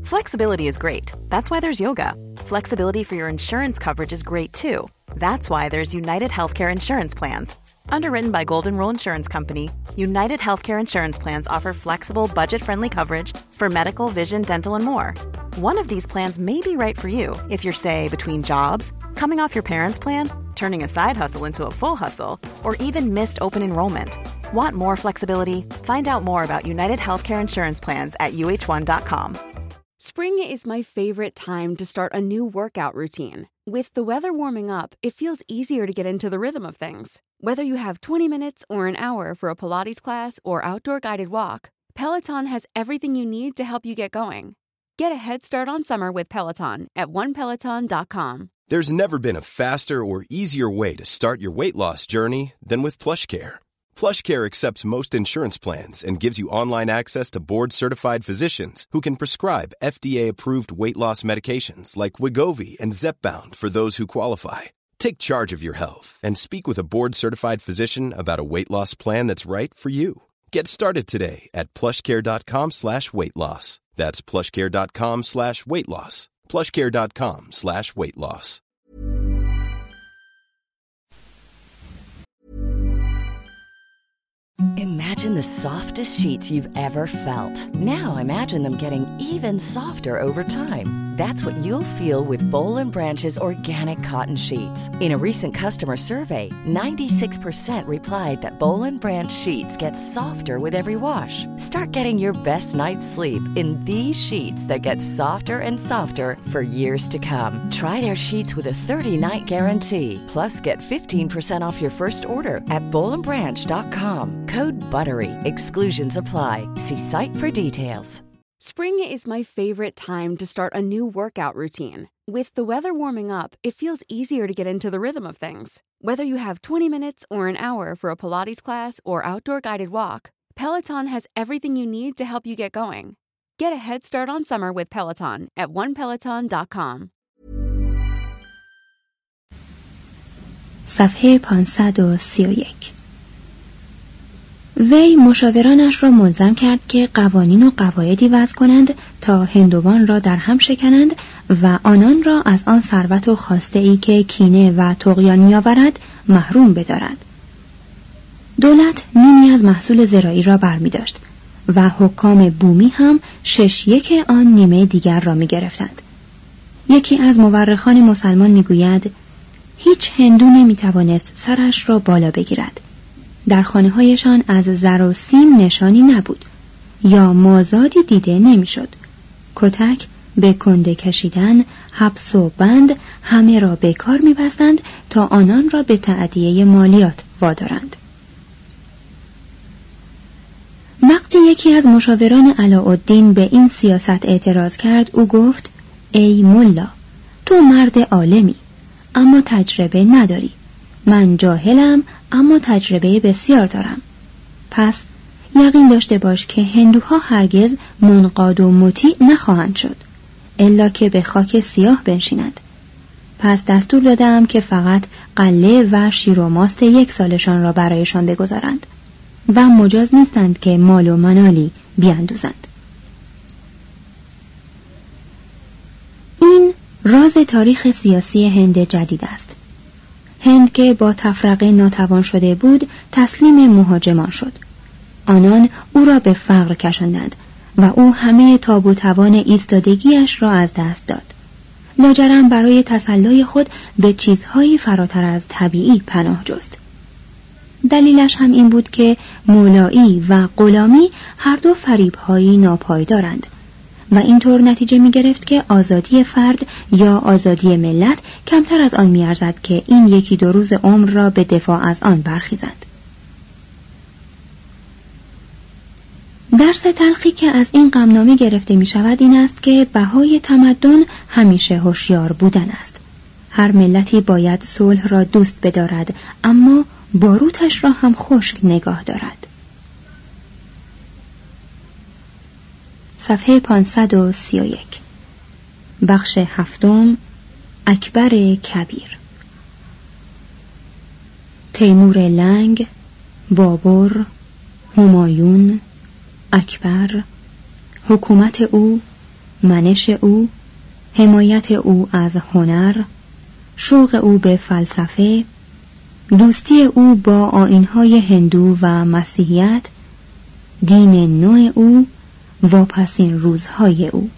Flexibility is great. That's why there's yoga. Flexibility for your insurance coverage is great too. That's why there's United Healthcare Insurance Plans. Underwritten by Golden Rule Insurance Company, United Healthcare Insurance Plans offer flexible, budget-friendly coverage for medical, vision, dental, and more. One of these plans may be right for you if you're, say, between jobs, coming off your parents' plan, turning a side hustle into a full hustle, or even missed open enrollment. Want more flexibility? Find out more about United Healthcare Insurance Plans at uh1.com. Spring is my favorite time to start a new workout routine. With the weather warming up, it feels easier to get into the rhythm of things. Whether you have 20 minutes or an hour for a Pilates class or outdoor guided walk, Peloton has everything you need to help you get going. Get a head start on summer with Peloton at onepeloton.com. There's never been a faster or easier way to start your weight loss journey than with PlushCare. PlushCare accepts most insurance plans and gives you online access to board-certified physicians who can prescribe FDA-approved weight loss medications like Wegovy and Zepbound for those who qualify. Take charge of your health and speak with a board-certified physician about a weight loss plan that's right for you. Get started today at plushcare.com/weight-loss. That's plushcare.com/weight-loss. plushcare.com/weight-loss. Imagine the softest sheets you've ever felt. Now imagine them getting even softer over time. That's what you'll feel with Boll & Branch's organic cotton sheets. In a recent customer survey, 96% replied that Boll & Branch sheets get softer with every wash. Start getting your best night's sleep in these sheets that get softer and softer for years to come. Try their sheets with a 30-night guarantee. Plus, get 15% off your first order at bollandbranch.com. Code BUTTERY. Exclusions apply. See site for details. Spring is my favorite time to start a new workout routine. With the weather warming up, it feels easier to get into the rhythm of things. Whether you have 20 minutes or an hour for a Pilates class or outdoor guided walk, Peloton has everything you need to help you get going. Get a head start on summer with Peloton at onepeloton.com. صفحه 531. وی مشاورانش را ملزم کرد که قوانین و قواعدی وضع کنند تا هندوان را در هم شکنند و آنان را از آن ثروت و خواسته‌ای که کینه و طغیان می‌آورد محروم بدارد. دولت نیمی از محصول زراعی را برمی‌داشت و حکام بومی هم 6/1 آن نیمه دیگر را می‌گرفتند. یکی از مورخان مسلمان می‌گوید هیچ هندو نمی‌توانست سرش را بالا بگیرد. در خانه‌هایشان از زر و سیم نشانی نبود یا مازادی دیده نمی‌شد. کتک، به کنده کشیدن، حبس و بند همه را به کار می‌بستند تا آنان را به تأدیه مالیات وادارند. وقتی یکی از مشاوران علاءالدین به این سیاست اعتراض کرد، او گفت: ای ملا، تو مرد عالمی اما تجربه نداری. من جاهلم اما تجربه بسیار دارم. پس یقین داشته باش که هندوها هرگز منقاد و مطیع نخواهند شد الا که به خاک سیاه بنشینند. پس دستور دادم که فقط قله و شیر و ماست 1 سالشان را برایشان بگذارند و مجاز نیستند که مال و منالی بیاندوزند. این راز تاریخ سیاسی هند جدید است. هند که با تفرقه ناتوان شده بود تسلیم مهاجمان شد. آنان او را به فقر کشاندند و او همه تاب و توان ایستادگیش را از دست داد. لاجرم برای تسلای خود به چیزهایی فراتر از طبیعی پناه جست. دلیلش هم این بود که مولایی و غلامی هر دو فریب‌هایی ناپایدارند و اینطور نتیجه می گرفت که آزادی فرد یا آزادی ملت کمتر از آن می ارزد که این 1-2 روز عمر را به دفاع از آن برخیزند. درس تلخی که از این غمنامه گرفته می شود این است که بهای تمدن همیشه هوشیار بودن است. هر ملتی باید صلح را دوست بدارد اما باروتش را هم خشک نگاه دارد. صفحه 531. بخش 7. اکبر کبیر. تیمور لنگ، بابر، همایون، اکبر، حکومت او، منش او، حمایت او از هنر، شوق او به فلسفه، دوستی او با آیین‌های هندو و مسیحیت، دین نو او، واپسین روزهای او.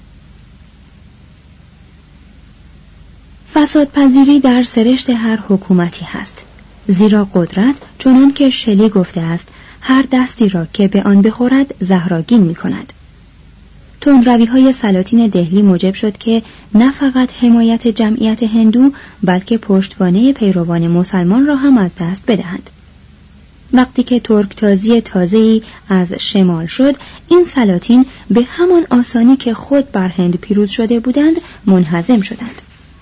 فسادپذیری در سرشت هر حکومتی هست، زیرا قدرت چنان که شلی گفته است هر دستی را که به آن بخورد زهراگین می کند. تندروی‌های سلاطین دهلی موجب شد که نه فقط حمایت جمعیت هندو بلکه پشتوانه پیروان مسلمان را هم از دست بدهند. وقتی که ترکتازی تازه‌ای از شمال شد، این سلاطین به همان آسانی که خود بر هند پیروز شده بودند منهزم شدند.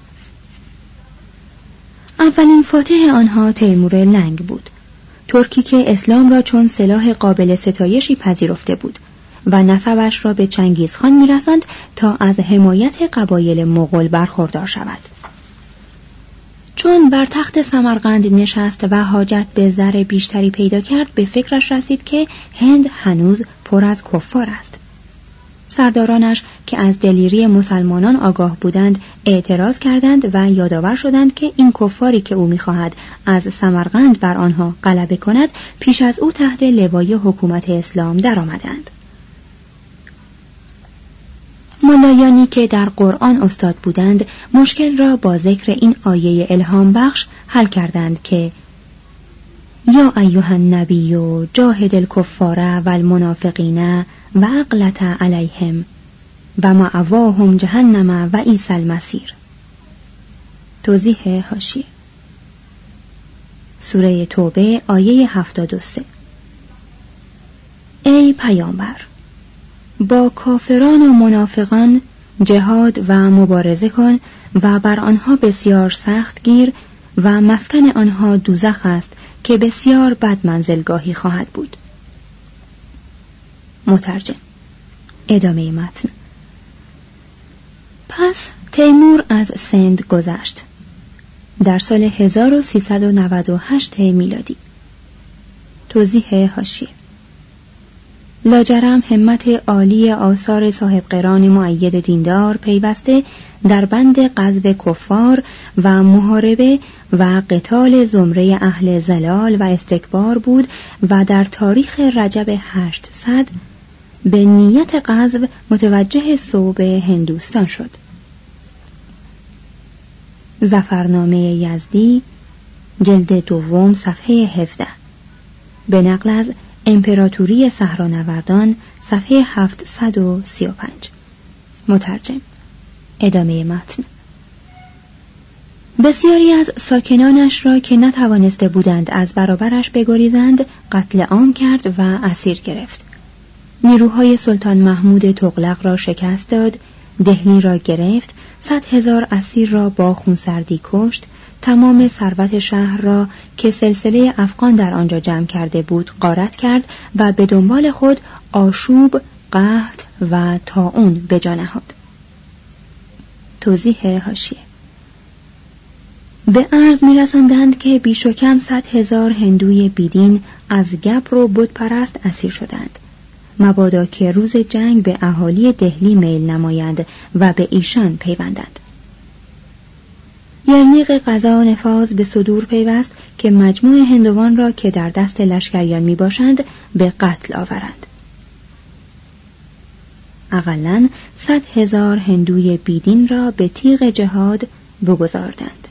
اولین فاتح آنها تیمور لنگ بود، ترکی که اسلام را چون سلاح قابل ستایشی پذیرفته بود و نسبش را به چنگیزخان می‌رساند تا از حمایت قبایل مغول برخوردار شود. چون بر تخت سمرقند نشست و حاجت به زر بیشتری پیدا کرد، به فکرش رسید که هند هنوز پر از کفار است. سردارانش که از دلیری مسلمانان آگاه بودند اعتراض کردند و یادآور شدند که این کفاری که او می‌خواهد از سمرقند بر آنها غلبه کند پیش از او تحت لوای حکومت اسلام درآمدند. ملایانی که در قرآن استاد بودند مشکل را با ذکر این آیه الهام بخش حل کردند که یا ایها النبی جاهد الکفار و المنافقین و اغلظ علیهم و مأواهم جهنم و بئس المصیر. توضیح حاشیه. سوره توبه آیه 73. ای پیامبر، با کافران و منافقان جهاد و مبارزه کن و بر آنها بسیار سخت گیر و مسکن آنها دوزخ است که بسیار بد منزلگاهی خواهد بود. مترجم. ادامه متن. پس تیمور از سند گذشت در سال 1398 میلادی. توضیح حاشیه. لاجرم همت عالی آثار صاحب قران مؤید دیندار پیوسته در بند غزو کفار و محاربه و قتال زمره اهل ضلال و استکبار بود و در تاریخ رجب 800 به نیت غزو متوجه صوب هندوستان شد. ظفرنامه یزدی جلد دوم صفحه 17 به نقل از امپراتوری صحرانوردان صفحه 735. مترجم. ادامه متن. بسیاری از ساکنانش را که نتوانسته بودند از برابرش بگریزند قتل عام کرد و اسیر گرفت. نیروهای سلطان محمود تغلق را شکست داد، دهلی را گرفت، 100,000 اسیر را با خونسردی کشت، تمام ثروت شهر را که سلسله افغان در آنجا جمع کرده بود غارت کرد و به دنبال خود آشوب، قحط و طاعون به جا نهاد. توضیح حاشیه. به عرض می‌رساندند که بیش و کم 100,000 هندوی بیدین از گبر و بت پرست اسیر شدند، مبادا که روز جنگ به اهالی دهلی میل نمایند و به ایشان پیوندند. یرنیق قضا و نفاذ به صدور پیوست که مجموع هندوان را که در دست لشکریان می باشند به قتل آورند. اقلاً 100,000 هندوی بیدین را به تیغ جهاد بگذاردند.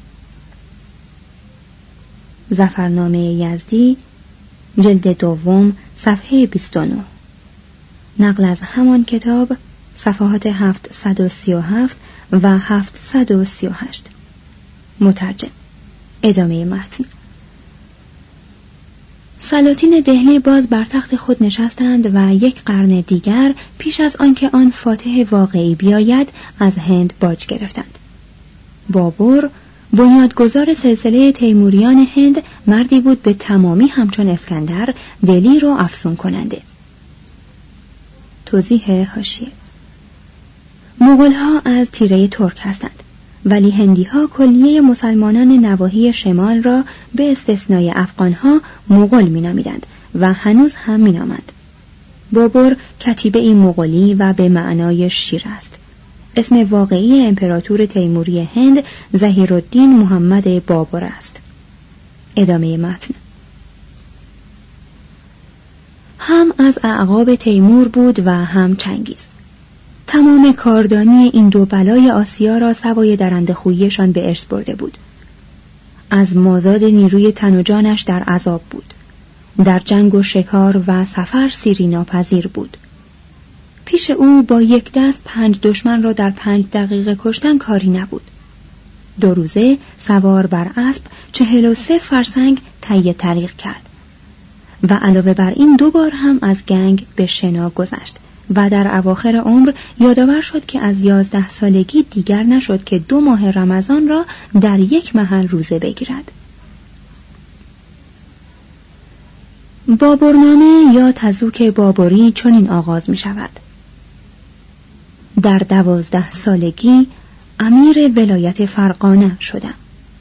ظفرنامه یزدی جلد دوم صفحه 29. نقل از همان کتاب صفحات 737 و 738. مترجم. ادامه متن. سلاطین دهلی باز بر تخت خود نشستند و یک قرن دیگر پیش از آنکه آن فاتح واقعی بیاید از هند باج گرفتند. بابر بنیادگذار سلسله تیموریان هند مردی بود به تمامی همچون اسکندر دلیر و افسون کننده. توضیح حاشیه. مغول‌ها از تیره ترک هستند، ولی هندی‌ها کلیه مسلمانان نواحی شمال را به استثنای افغان‌ها مغول می‌نامیدند و هنوز هم می‌نامند. بابر کتیبه مغولی و به معنای شیر است. اسم واقعی امپراتور تیموری هند ظهیرالدین محمد بابر است. ادامه متن. هم از اعقاب تیمور بود و هم چنگیز. تمام کاردانی این دو بلای آسیا را سوای درنده‌خویی‌شان به ارث برده بود. از مازاد نیروی تن و جانش در عذاب بود. در جنگ و شکار و سفر سیری ناپذیر بود. پیش او با یک دست 5 دشمن را در 5 دقیقه کشتن کاری نبود. 2 روزه سوار بر اسب 43 فرسنگ طی طریق کرد و علاوه بر این 2 بار هم از گنگ به شنا گذشت و در اواخر عمر یادآور شد که از 11 سالگی دیگر نشد که 2 ماه رمضان را در یک محل روزه بگیرد. بابرنامه یا تزوک بابری چنین آغاز می شود: در 12 سالگی امیر ولایت فرغانه شدم.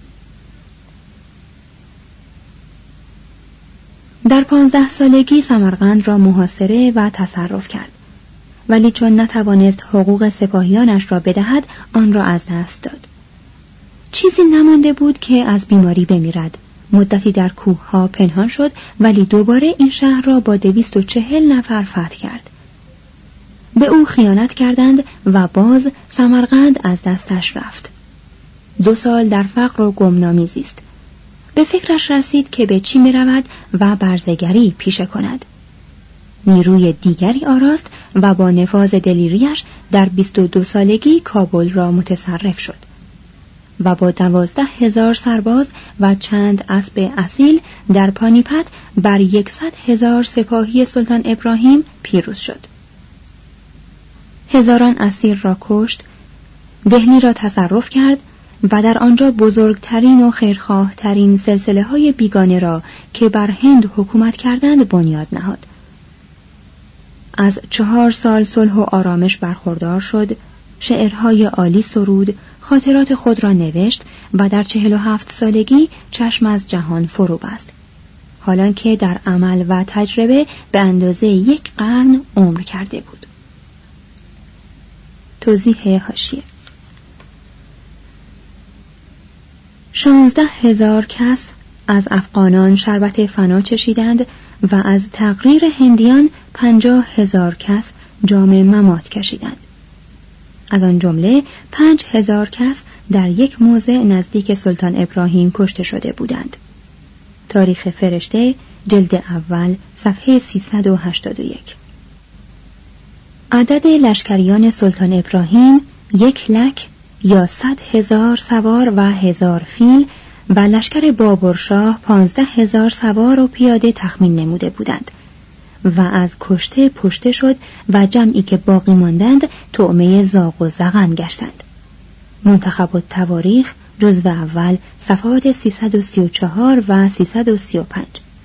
در 15 سالگی سمرقند را محاصره و تصرف کرد، ولی چون نتوانست حقوق سپاهیانش را بدهد آن را از دست داد. چیزی نمانده بود که از بیماری بمیرد. مدتی در کوه‌ها پنهان شد، ولی دوباره این شهر را با 240 نفر فتح کرد. به او خیانت کردند و باز سمرقند از دستش رفت. 2 سال در فقر و گمنامی زیست. به فکرش رسید که به چی می رود و برزگری پیشه کند. نیروی دیگری آراست و با نفاذ دلیریش در 22 سالگی کابل را متصرف شد و با 12,000 سرباز و چند اسب اصیل در پانیپت بر 100,000 سپاهی سلطان ابراهیم پیروز شد. هزاران اسیر را کشت، دهلی را تصرف کرد و در آنجا بزرگترین و خیرخواه ترین سلسله های بیگانه را که بر هند حکومت کردند بنیاد نهاد. از 4 سال صلح و آرامش برخوردار شد، شعرهای عالی سرود، خاطرات خود را نوشت و در 47 سالگی چشم از جهان فرو بست، حالان که در عمل و تجربه به اندازه 1 قرن عمر کرده بود. توضیح حاشیه: 16,000 کس از افغانان شربت فنا چشیدند و از تقریر هندیان 50,000 کس جام ممات کشیدند. از آن جمله 5,000 کس در یک موضع نزدیک سلطان ابراهیم کشته شده بودند. تاریخ فرشته جلد اول صفحه 381. عدد لشکریان سلطان ابراهیم 1 لک یا 100,000 سوار و 1000 فیل و لشکر بابرشاه 15,000 سوار و پیاده تخمین نموده بودند و از کشته پشته شد و جمعی که باقی ماندند طعمه زاغ و زغن گشتند. منتخب التواریخ جزو اول صفحات 334 و 335.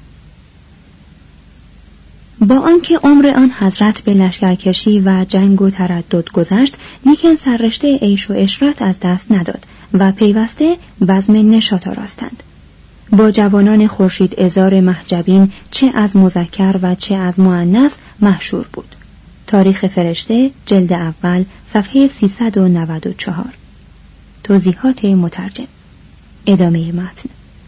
با آنکه عمر آن حضرت به لشکرکشی و جنگ و تردد گذشت، لیکن سررشته عیش و عشرت از دست نداد و پیوسته بزم نشاط آراستند. با جوانان خورشید عذار محجبین چه از مذکر و چه از مؤنث محشور بود. تاریخ فرشته جلد اول صفحه 394. توضیحات مترجم. ادامه متن.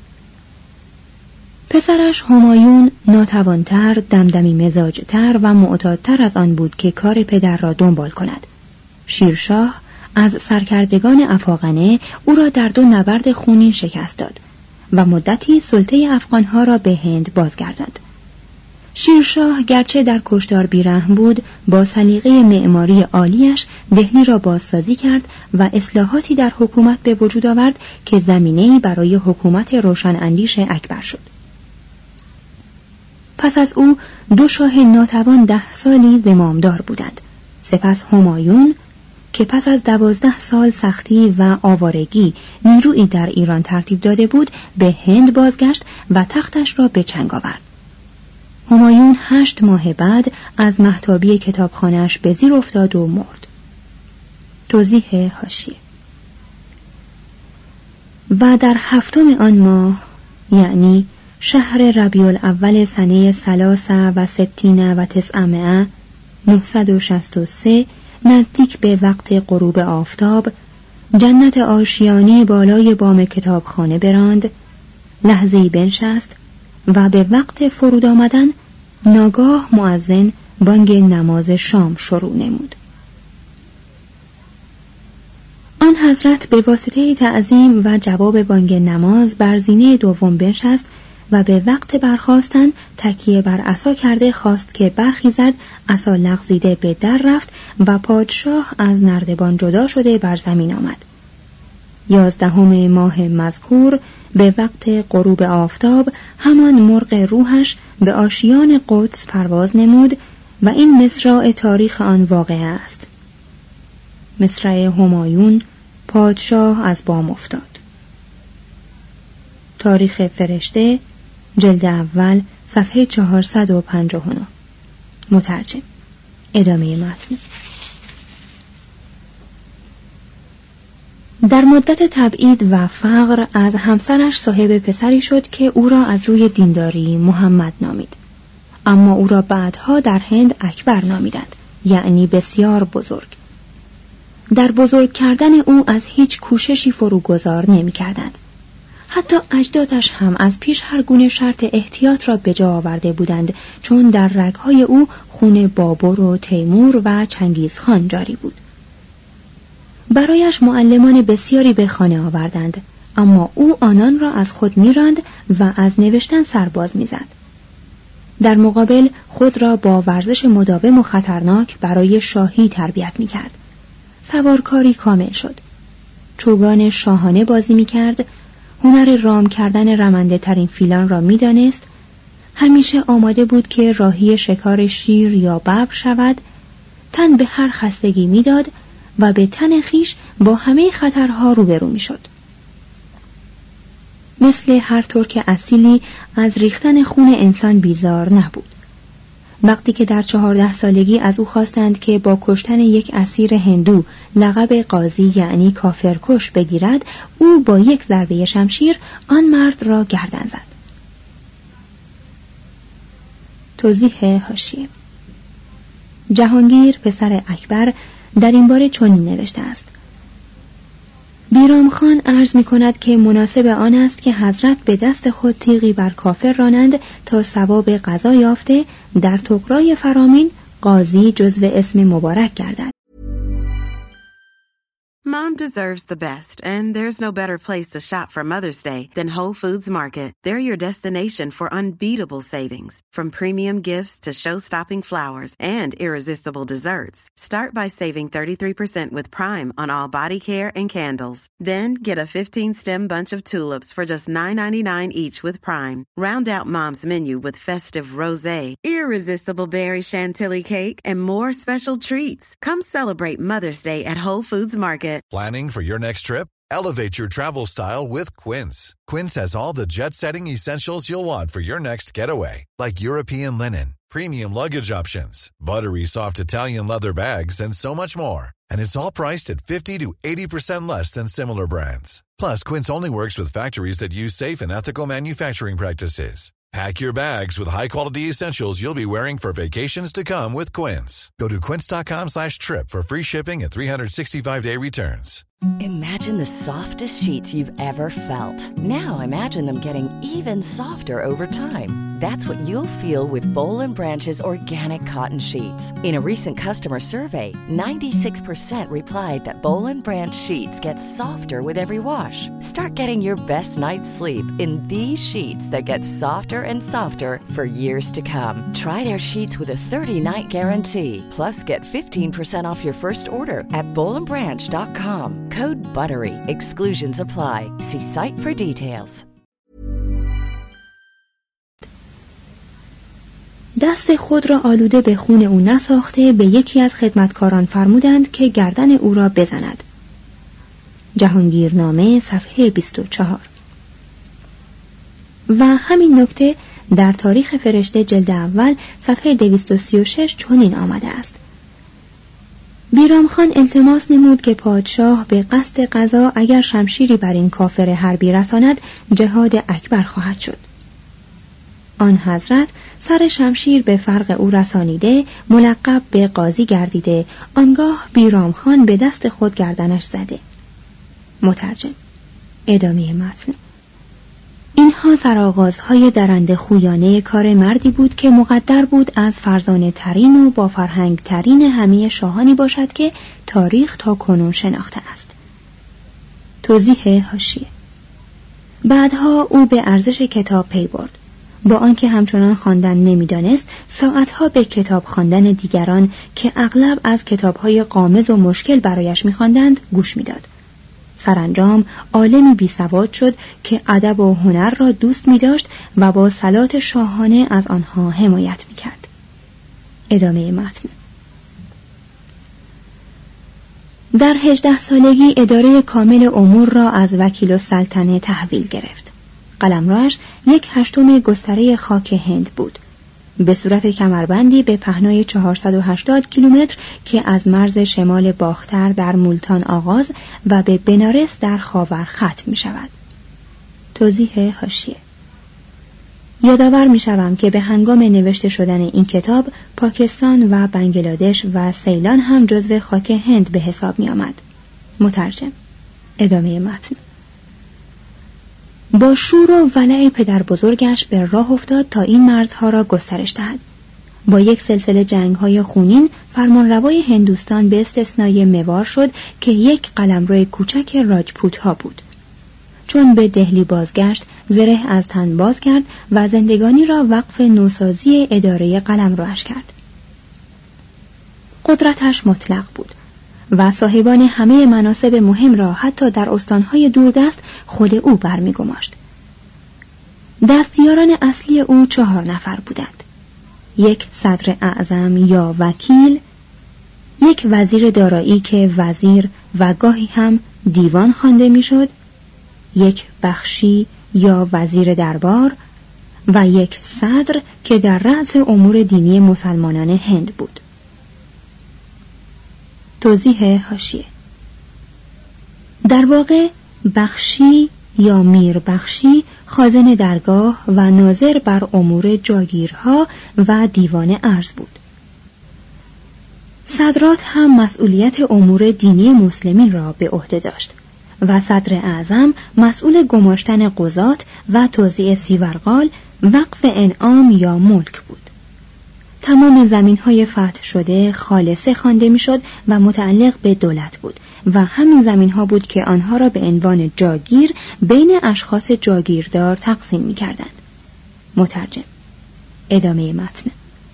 پسرش همایون ناتوانتر، دمدمی مزاجتر و معتادتر از آن بود که کار پدر را دنبال کند. شیرشاه از سرکردگان افاقنه او را در 2 نبرد خونین شکست داد و مدتی سلطه افغانها را به هند بازگرداند. شیرشاه گرچه در کشتار بیرحم بود، با سلیقه معماری عالیش دهلی را بازسازی کرد و اصلاحاتی در حکومت به وجود آورد که زمینه‌ای برای حکومت روشن اندیش اکبر شد. پس از او 2 شاه ناتوان 10 سالی زمامدار بودند. سپس همایون که پس از 12 سال سختی و آوارگی نیرویی در ایران ترتیب داده بود، به هند بازگشت و تختش را به چنگ آورد. همایون 8 ماه بعد از مهتابی کتابخانه‌اش به زیر افتاد و مرد. توضیح حاشیه: و در 7م آن ماه، یعنی شهر ربیع الاول سنه 63 و 963 نزدیک به وقت غروب آفتاب جنت آشیانی بالای بام کتابخانه براند، لحظه‌ای بنشست و به وقت فرود آمدن ناگاه مؤذن بانگ نماز شام شروع نمود. آن حضرت به واسطه تعظیم و جواب بانگ نماز بر زینه دوم بنشست و به وقت برخاستن تکیه بر عصا کرده خواست که برخیزد. عصا لغزیده به در رفت و پادشاه از نردبان جدا شده بر زمین آمد. 11 ماه مذکور به وقت غروب آفتاب همان مرغ روحش به آشیان قدس پرواز نمود و این مصرع تاریخ آن واقعه است. مصرع همایون، پادشاه از بام افتاد. تاریخ فرشته، جلد اول، صفحه 459. مترجم. ادامه متن. در مدت تبعید و فقر از همسرش صاحب پسری شد که او را از روی دینداری محمد نامید، اما او را بعدها در هند اکبر نامیدند، یعنی بسیار بزرگ. در بزرگ کردن او از هیچ کوششی فروگذار نمی کردند. حتی اجدادش هم از پیش هر گونه شرط احتیاط را به جا آورده بودند، چون در رگ‌های او خون بابر و تیمور و چنگیزخان جاری بود. برایش معلمان بسیاری به خانه آوردند، اما او آنان را از خود می‌راند و از نوشتن سرباز می‌زد. در مقابل خود را با ورزش مداوم و خطرناک برای شاهی تربیت می‌کرد. سوارکاری کامل شد. چوگان شاهانه بازی می‌کرد. هنر رام کردن رمنده ترین فیلان را می‌دانست. همیشه آماده بود که راهی شکار شیر یا ببر شود. تن به هر خستگی می‌داد و به تن خیش با همه خطرها روبرو می‌شد. مثل هر ترک اصیلی از ریختن خون انسان بیزار نبود. وقتی که در 14 سالگی از او خواستند که با کشتن یک اسیر هندو لقب قاضی یعنی کافرکش بگیرد، او با یک ضربه شمشیر آن مرد را گردن زد. توضیح حاشیه: جهانگیر پسر اکبر در این باره چنین نوشته است: بیرام خان عرض می کند که مناسب آن است که حضرت به دست خود تیغی بر کافر رانند تا ثواب قضا یافته در طغرای فرامین قاضی جزو اسم مبارک گردد. Mom deserves the best, and there's no better place to shop for Mother's Day than Whole Foods Market. They're your destination for unbeatable savings, from premium gifts to show-stopping flowers and irresistible desserts. Start by saving 33% with Prime on all body care and candles. Then get a 15-stem bunch of tulips for just $9.99 each with Prime. Round out Mom's menu with festive rosé, irresistible berry chantilly cake, and more special treats. Come celebrate Mother's Day at Whole Foods Market. Planning for your next trip? Elevate your travel style with Quince. Quince has all the jet-setting essentials you'll want for your next getaway, like European linen, premium luggage options, buttery soft Italian leather bags, and so much more. And it's all priced at 50 to 80% less than similar brands. Plus, Quince only works with factories that use safe and ethical manufacturing practices. Pack your bags with high-quality essentials you'll be wearing for vacations to come with Quince. Go to quince.com/trip for free shipping and 365-day returns. Imagine the softest sheets you've ever felt. Now imagine them getting even softer over time. That's what you'll feel with Boll & Branch's organic cotton sheets. In a recent customer survey, 96% replied that Boll & Branch sheets get softer with every wash. Start getting your best night's sleep in these sheets that get softer and softer for years to come. Try their sheets with a 30-night guarantee. Plus, get 15% off your first order at bollandbranch.com. Code BUTTERY. Exclusions apply. See site for details. دست خود را آلوده به خون او نساخته به یکی از خدمتکاران فرمودند که گردن او را بزند. جهانگیرنامه صفحه 24. و همین نکته در تاریخ فرشته جلد اول صفحه 236 چنین آمده است: بیرام خان التماس نمود که پادشاه به قصد قضا اگر شمشیری بر این کافر حربی رساند جهاد اکبر خواهد شد. آن حضرت سر شمشیر به فرق او رسانیده ملقب به قاضی گردیده، آنگاه بیرام خان به دست خود گردنش زده. مترجم. ادامه متن. اینها سرآغازهای درنده خویانه کار مردی بود که مقدر بود از فرزانه ترین و با فرهنگ ترین همه شاهانی باشد که تاریخ تا کنون شناخته است. توضیح حاشیه. بعدها او به ارزش کتاب پی برد. با آنکه همچنان خواندن نمی‌دانست، ساعتها به کتاب خواندن دیگران که اغلب از کتاب‌های غامض و مشکل برایش می‌خواندند گوش می‌داد. سرانجام عالمی بیسواد شد که ادب و هنر را دوست می‌داشت و با صلات شاهانه از آنها حمایت می‌کرد. ادامه متن. در 18 سالگی اداره کامل امور را از وکیل السلطنه تحویل گرفت. قلمروش 1/8 گستره خاک هند بود، به صورت کمربندی به پهنای 480 کیلومتر که از مرز شمال باختر در مولتان آغاز و به بنارس در خاور ختم می شود. توضیح حاشیه. یادآور می شوم که به هنگام نوشته شدن این کتاب پاکستان و بنگلادش و سیلان هم جزو خاک هند به حساب می آمد. مترجم. ادامه متن. با شور و ولع پدر بزرگش به راه افتاد تا این مرزها را گسترش دهد. با یک سلسله جنگ‌های خونین فرمانروای هندوستان به استثنای موار شد که یک قلمرو کوچک راجپوت‌ها بود. چون به دهلی بازگشت، زره از تن باز کرد و زندگانی را وقف نوسازی اداره قلمروش کرد. قدرتش مطلق بود و صاحبان همه مناصب مهم را حتی در استانهای دوردست خود او برمی‌گماشت. دستیاران اصلی او 4 نفر بودند: 1 صدر اعظم یا وکیل، 1 وزیر دارایی که وزیر و گاهی هم دیوان خوانده میشد، 1 بخشی یا وزیر دربار و 1 صدر که در رأس امور دینی مسلمانان هند بود. توضیح حاشیه. در واقع بخشی یا میر بخشی خازن درگاه و ناظر بر امور جاگیرها و دیوان ارز بود. صدرات هم مسئولیت امور دینی مسلمین را به عهده داشت و صدر اعظم مسئول گماشتن قضات و توزیع سیورغال، وقف انعام یا ملک بود. تمام زمین‌های فتح شده خالصه خوانده می‌شد و متعلق به دولت بود و همین زمین‌ها بود که آنها را به عنوان جاگیر بین اشخاص جاگیردار تقسیم می‌کردند. مترجم. ادامه متن.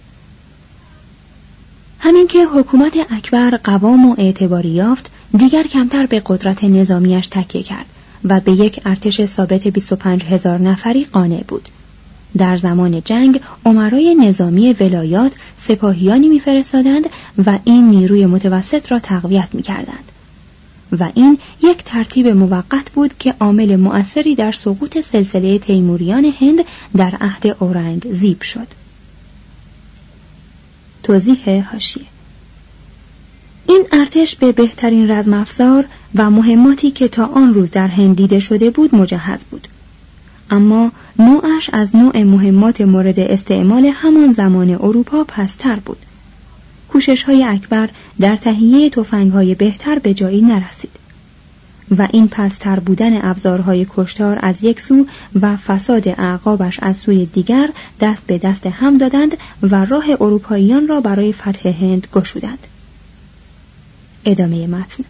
همین که حکومت اکبر قوام و اعتباری یافت، دیگر کمتر به قدرت نظامیش تکیه کرد و به یک ارتش ثابت 25,000 نفری قانع بود. در زمان جنگ امرای نظامی ولایات سپاهیانی می‌فرستادند و این نیروی متوسط را تقویت می‌کردند و این یک ترتیب موقت بود که عامل مؤثری در سقوط سلسله تیموریان هند در عهد اورنگزیب شد. توضیح حاشیه. این ارتش به بهترین رزم افزار و مهماتی که تا آن روز در هند دیده شده بود مجهز بود، اما نوعش از نوع مهمات مورد استعمال همان زمان اروپا پستر بود. کوشش‌های اکبر در تهیه تفنگ‌های بهتر به جایی نرسید و این پستر بودن ابزارهای کشتار از یک سو و فساد اعقابش از سوی دیگر دست به دست هم دادند و راه اروپاییان را برای فتح هند گشودند. ادامه متن.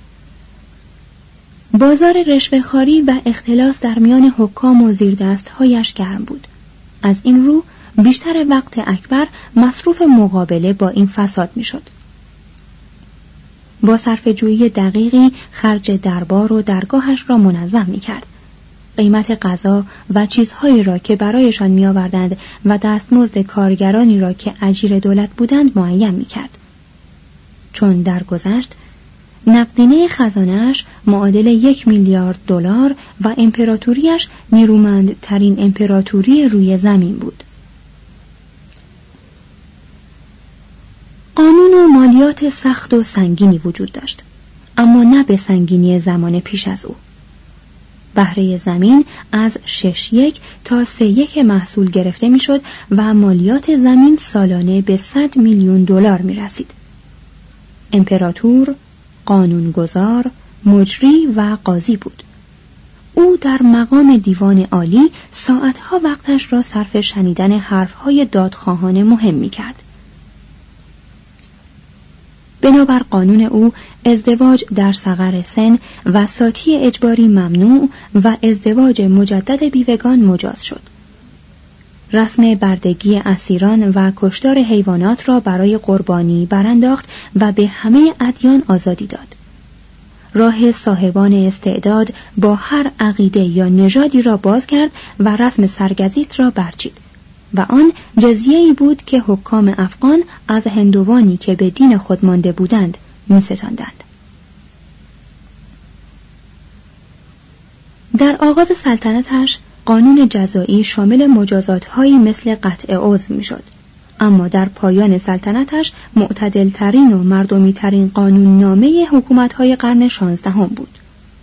بازار رشوه‌خواری و اختلاس در میان حکام و زیردست‌هایش گرم بود. از این رو بیشتر وقت اکبر مصروف مقابله با این فساد می‌شد. با صرفه‌جویی دقیقی خرج دربار و درگاهش را منظم می‌کرد. قیمت غذا و چیزهایی را که برایشان می‌آوردند و دستمزد کارگرانی را که اجیر دولت بودند معین می‌کرد. چون درگذشت نقدینه خزانه‌اش معادل 1 میلیارد دلار و امپراتوریش نیرومندترین امپراتوری روی زمین بود. قانون و مالیات سخت و سنگینی وجود داشت، اما نه به سنگینی زمان پیش از او. بهره زمین از 6.1 تا 3.1 محصول گرفته میشد و مالیات زمین سالانه به 100 میلیون دلار می رسید. امپراتور، قانونگذار، مجری و قاضی بود. او در مقام دیوان عالی ساعتها وقتش را صرف شنیدن حرفهای دادخواهان مهم می کرد. بنابر قانون او ازدواج در صغر سن و ساتی اجباری ممنوع و ازدواج مجدد بیوگان مجاز شد. رسم بردگی اسیران و کشتار حیوانات را برای قربانی برانداخت و به همه ادیان آزادی داد. راه صاحبان استعداد با هر عقیده یا نژادی را باز کرد و رسم سرگزیت را برچید و آن جزیه‌ای بود که حکام افغان از هندوانی که به دین خود مانده بودند می‌ستاندند. در آغاز سلطنتش قانون جزایی شامل مجازات‌هایی مثل قطع عضو می‌شد، اما در پایان سلطنتش معتدل‌ترین و مردمی‌ترین قانوننامه حکومت‌های قرن 16 بود.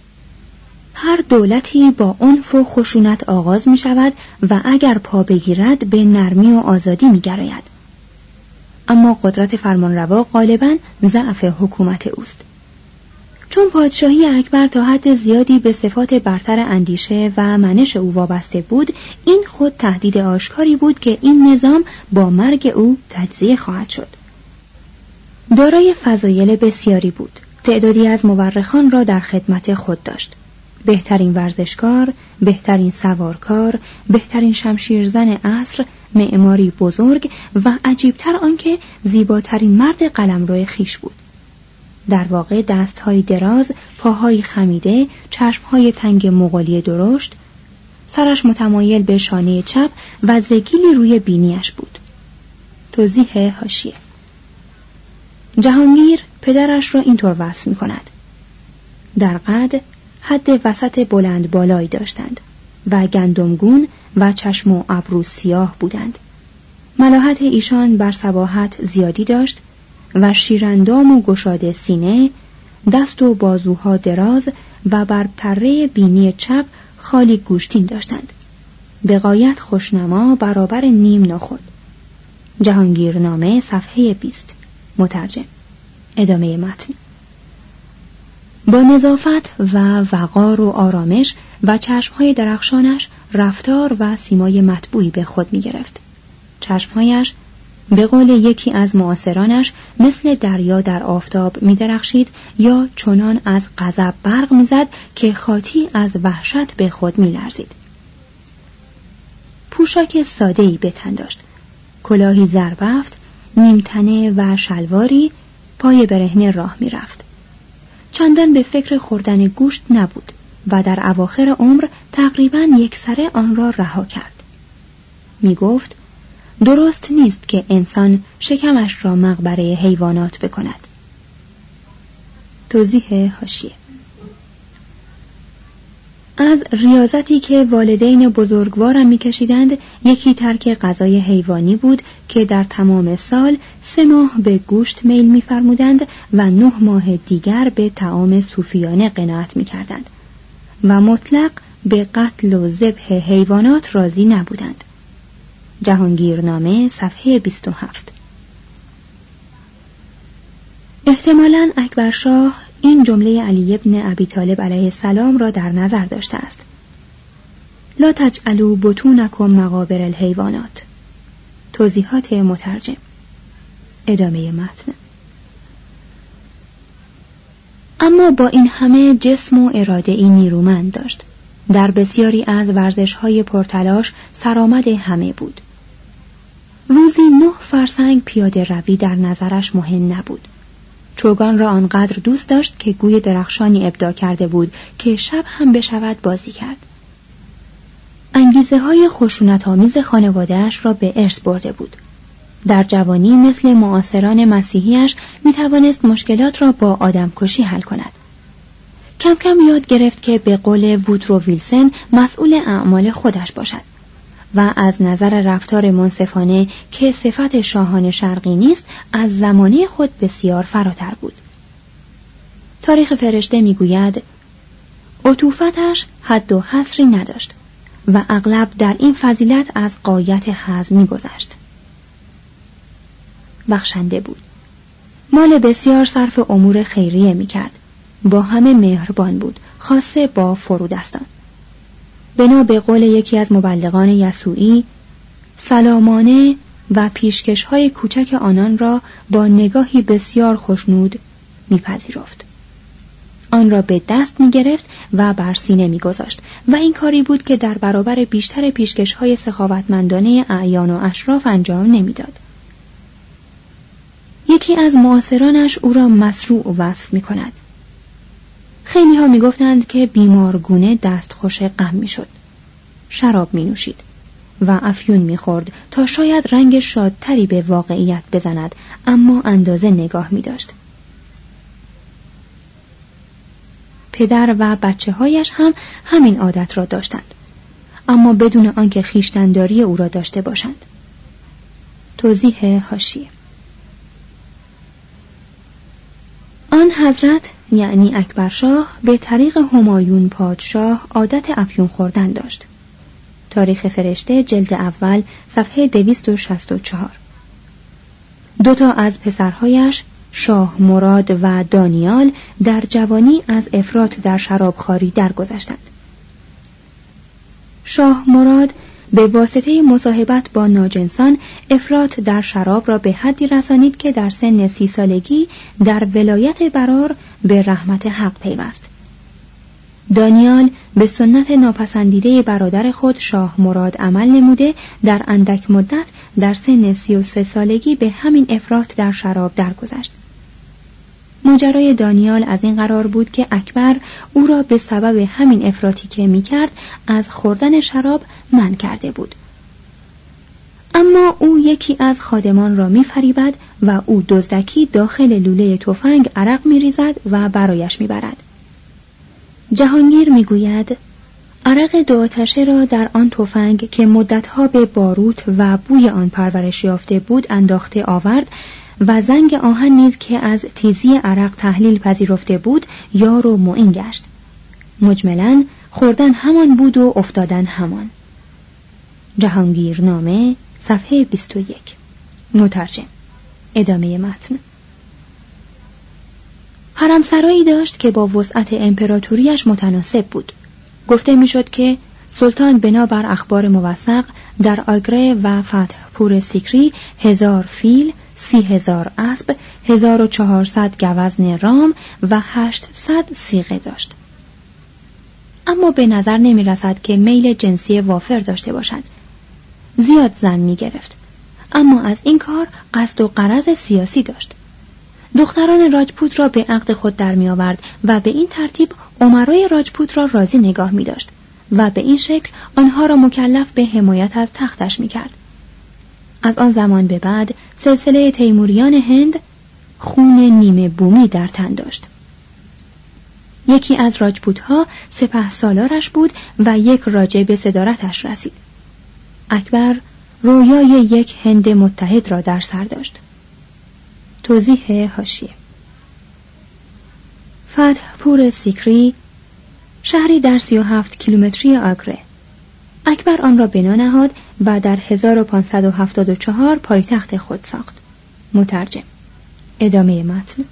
هر دولتی با عنف و خشونت آغاز می شود و اگر پا بگیرد به نرمی و آزادی می گراید. اما قدرت فرمانروا غالباً ضعف حکومت اوست. چون پادشاهی اکبر تا حد زیادی به صفات برتر اندیشه و منش او وابسته بود، این خود تهدید آشکاری بود که این نظام با مرگ او تجزیه خواهد شد. دارای فضایل بسیاری بود. تعدادی از مورخان را در خدمت خود داشت. بهترین ورزشکار، بهترین سوارکار، بهترین شمشیرزن عصر، معماری بزرگ و عجیبتر آنکه زیباترین مرد قلمرو خیش بود. در واقع دست‌های دراز، پاهای خمیده، چشم‌های تنگ مغولی درشت، سرش متمایل به شانه چپ و زگیلی روی بینیش بود. توضیح حاشیه: جهانگیر پدرش را اینطور وصف می‌کند: در قد حد وسط بلند بالایی داشتند و گندمگون و چشم و ابرو سیاه بودند. ملاحت ایشان بر صباحت زیادی داشت و شیراندام و گشاده سینه، دست و بازوها دراز و بر پره بینی چپ خالی گوشتین داشتند. به غایت خوشنما برابر نیم ناخود. جهانگیرنامه صفحه 20. مترجم. ادامه متن. با نظافت و وقار و آرامش و چشمهای درخشانش رفتار و سیمای مطبوعی به خود می گرفت. چشمهایش به قول یکی از معاصرانش مثل دریا در آفتاب می درخشید یا چنان از غضب برق می زد که خاطی از وحشت به خود می لرزید. پوشاک ساده‌ای به تن داشت. کلاهی زربفت، نیمتنه و شلواری، پای برهنه راه می رفت. چندان به فکر خوردن گوشت نبود و در اواخر عمر تقریباً یکسره آن را رها کرد. می گفت درست نیست که انسان شکمش را مقبره حیوانات بکند. توضیح حاشیه: از ریاضتی که والدین بزرگوارم می‌کشیدند یکی ترک غذای حیوانی بود که در تمام سال 3 ماه به گوشت میل می‌فرمودند و 9 ماه دیگر به طعام صوفیانه قناعت می‌کردند و مطلق به قتل و ذبح حیوانات راضی نبودند. جهانگیرنامه صفحه 27. احتمالاً اکبرشاه این جمله علی ابن ابی طالب علیه السلام را در نظر داشته است: لا تجعلوا بطونکم مقابر الحیوانات. توضیحات مترجم. ادامه متن. اما با این همه جسم و اراده ای نیرومند داشت. در بسیاری از ورزش‌های پرتلاش سرآمد همه بود. روزی 9 فرسنگ پیاده روی در نظرش مهم نبود. چوگان را آنقدر دوست داشت که گوی درخشانی ابداع کرده بود که شب هم بشود بازی کرد. انگیزه‌های خشونت‌آمیز خانواده‌اش را به ارث برده بود. در جوانی مثل معاصران مسیحیش می‌توانست مشکلات را با آدمکشی حل کند. کم کم یاد گرفت که به قول وودرو ویلسن مسئول اعمال خودش باشد و از نظر رفتار منصفانه که صفت شاهان شرقی نیست از زمانه خود بسیار فراتر بود. تاریخ فرشته میگوید عطوفتش حد و حصری نداشت و اغلب در این فضیلت از غایت حظ می‌گذشت. بخشنده بود. مال بسیار صرف امور خیریه می‌کرد. با همه مهربان بود، خاصه با فرودستان. بنا به قول یکی از مبلغان یسوعی، سلامانه و پیشکش‌های کوچک آنان را با نگاهی بسیار خوشنود می‌پذیرفت. آن را به دست می‌گرفت و بر سینه می‌گذاشت و این کاری بود که در برابر بیشتر پیشکش‌های سخاوتمندانه اعیان و اشراف انجام نمی‌داد. یکی از معاصرانش او را مسروع وصف می‌کند. خیلی ها می‌گفتند که بیمارگونه دستخوش غم می‌شد. شراب می‌نوشید و افیون می‌خورد تا شاید رنگ شادتری به واقعیت بزند، اما اندازه نگاه می‌داشت. پدر و بچه‌هایش هم همین عادت را داشتند، اما بدون آنکه خویشتن‌داری او را داشته باشند. توضیح حاشیه: آن حضرت یعنی اکبرشاه به طریق همایون پادشاه عادت افیون خوردن داشت. تاریخ فرشته جلد اول صفحه 264. 2 از پسرهایش شاه مراد و دانیال در جوانی از افراط در شرابخواری درگذشتند. شاه مراد به واسطه مصاحبت با ناجنسان افراط در شراب را به حدی رسانید که در سن 30 سالگی در ولایت برار به رحمت حق پیوست. دانیال به سنت ناپسندیده برادر خود شاه مراد عمل نموده در اندک مدت در سن 33 سالگی به همین افراط در شراب درگذشت. ماجرای دانیال از این قرار بود که اکبر او را به سبب همین افراطی که می‌کرد از خوردن شراب منع کرده بود. اما او یکی از خادمان را می‌فریبد و او دزدکی داخل لوله تفنگ عرق می‌ریزد و برایش می‌برد. جهانگیر می‌گوید عرق 2 آتشه را در آن تفنگ که مدتها به باروت و بوی آن پرورش یافته بود انداخته آورد و زنگ آهن نیز که از تیزی عرق تحلیل پذیرفته بود یار و معین گشت. مجملاً خوردن همان بود و افتادن همان. جهانگیرنامه صفحه 21. مترجم. ادامه متن. حرمسرایی داشت که با وسعت امپراتوریش متناسب بود. گفته میشد که سلطان بنابر اخبار موثق در آگره و فتح پور سیکری 1000 فیل، 30,000 اسب، 1400 گوزن رام و 800 صیغه داشت. اما به نظر نمی رسد که میل جنسی وافر داشته باشد. زیاد زن می گرفت، اما از این کار قصد و غرض سیاسی داشت. دختران راجپوت را به عقد خود در می آورد و به این ترتیب امرای راجپوت را راضی نگاه می داشت و به این شکل آنها را مکلف به حمایت از تختش می کرد. از آن زمان به بعد سلسله تیموریان هند خون نیمه بومی در تن داشت. یکی از راجپوت‌ها سپهسالارش بود و یک راجع به صدارتش رسید. اکبر رویای یک هند متحد را در سر داشت. توضیح حاشیه: فتح پور سیکری شهری در 37 کیلومتری آگره. اکبر آن را بنا نهاد و در 1574 پایتخت خود ساخت. مترجم. ادامه متن.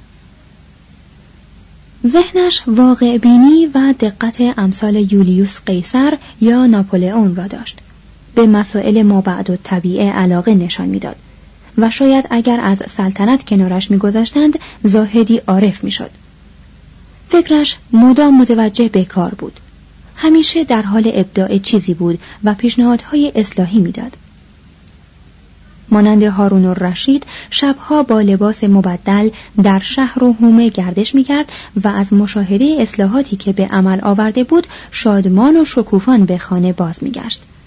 ذهنش واقع بینی و دقت امثال یولیوس قیصر یا ناپولئون را داشت. به مسائل مابعد الطبیعه علاقه نشان میداد و شاید اگر از سلطنت کنارش میگذاشتند زاهدی عارف میشد. فکرش مدام متوجه به کار بود. همیشه در حال ابداع چیزی بود و پیشنهادهای اصلاحی میداد. مانند هارون الرشید شبها با لباس مبدل در شهر و حومه گردش میکرد و از مشاهده اصلاحاتی که به عمل آورده بود شادمان و شکوفان به خانه باز میگشت.